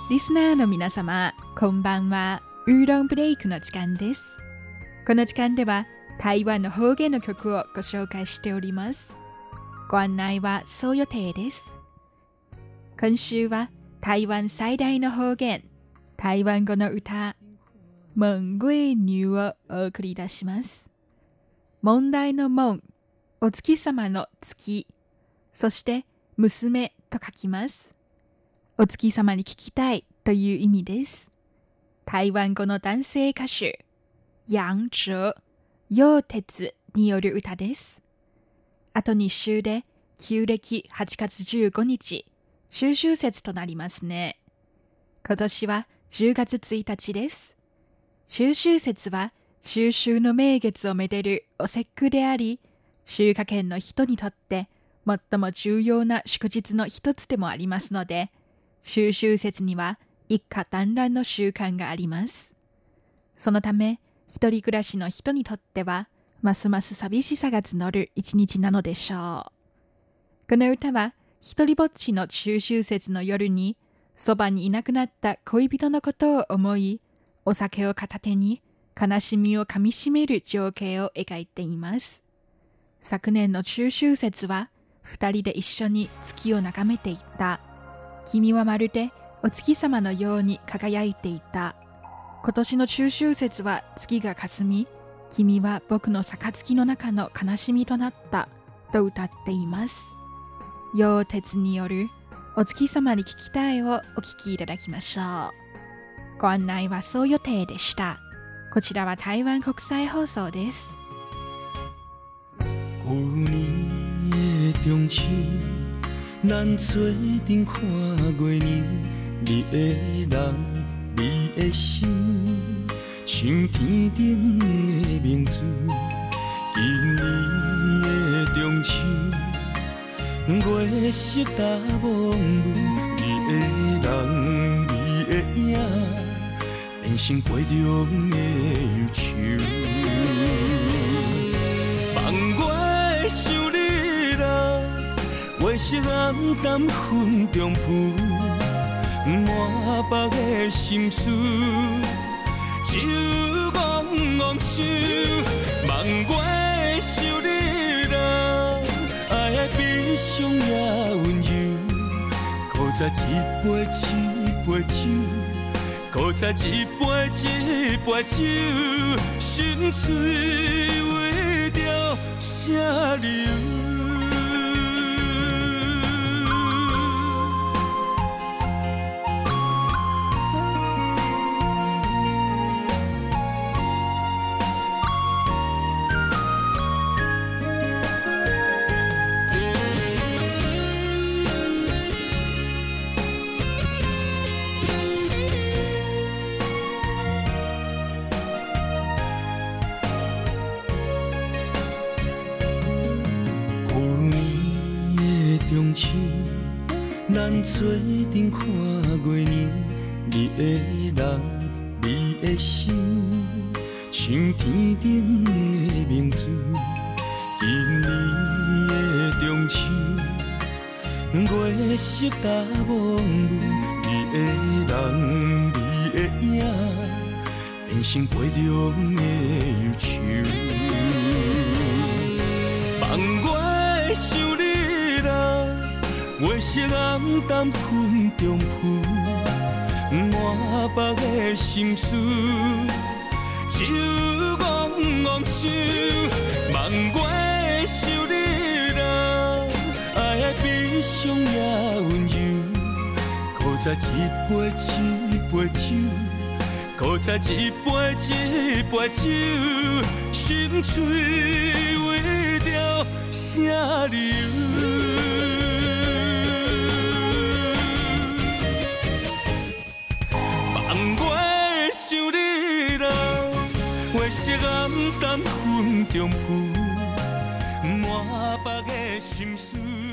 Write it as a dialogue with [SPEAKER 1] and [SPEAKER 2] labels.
[SPEAKER 1] リスナーの皆様、こんばんは。ウーロンブレイクの時間です。この時間では台湾の方言の曲をご紹介しております。ご案内はそう予定です。今週は台湾最大の方言、台湾語の歌、問月女をお送り出します。問題の問、お月様の月、そして娘と書きます。お月様に聞きたいという意味です。台湾語の男性歌手、楊哲、楊哲による歌です。あと2週で旧暦8月15日、中秋節となりますね。今年は10月1日です。中秋節は中秋の名月をめでるお節句であり、中華圏の人にとって最も重要な祝日の一つでもありますので、中秋節には一家団らんの習慣があります。そのため、一人暮らしの人にとっては、ますます寂しさが募る一日なのでしょう。この歌は、一人ぼっちの中秋節の夜に、そばにいなくなった恋人のことを思い、お酒を片手に悲しみをかみしめる情景を描いています。昨年の中秋節は、二人で一緒に月を眺めていた。君はまるでお月様のように輝いていた。今年の中秋節は月が霞み、君は僕の杯の中の悲しみとなったと歌っています。楊哲によるお月様に聞きたいをお聞きいただきましょう。ご案内はそう予定でした。こちらは台湾国際放送です。
[SPEAKER 2] 旧年的中秋，咱做阵看月亮，你的人，你的心，像天顶的明珠。今年的中秋，月色大蒙雾，你的人，你的影，变成杯中的忧愁。望我想你啦。月色暗淡云中浮，满腹的心事，只有怣怣想。望我想你啦，爱的悲伤也温柔。搁再一杯一杯酒，搁再一杯一杯酒，心碎为着啥理由？中秋，咱做阵看月亮，你的人，你的心，像天顶的明珠。今年的中秋，月色大蒙雾，你的人，你的影，变成杯中的忧愁。望我想你。月色暗淡云中浮，满腹的心事，只有怣怣想。望我想你啦，爱的悲伤也温柔。搁再一杯一杯酒，搁再一杯一杯酒，心碎为着啥理由？月色暗淡云中浮，满腹的心事。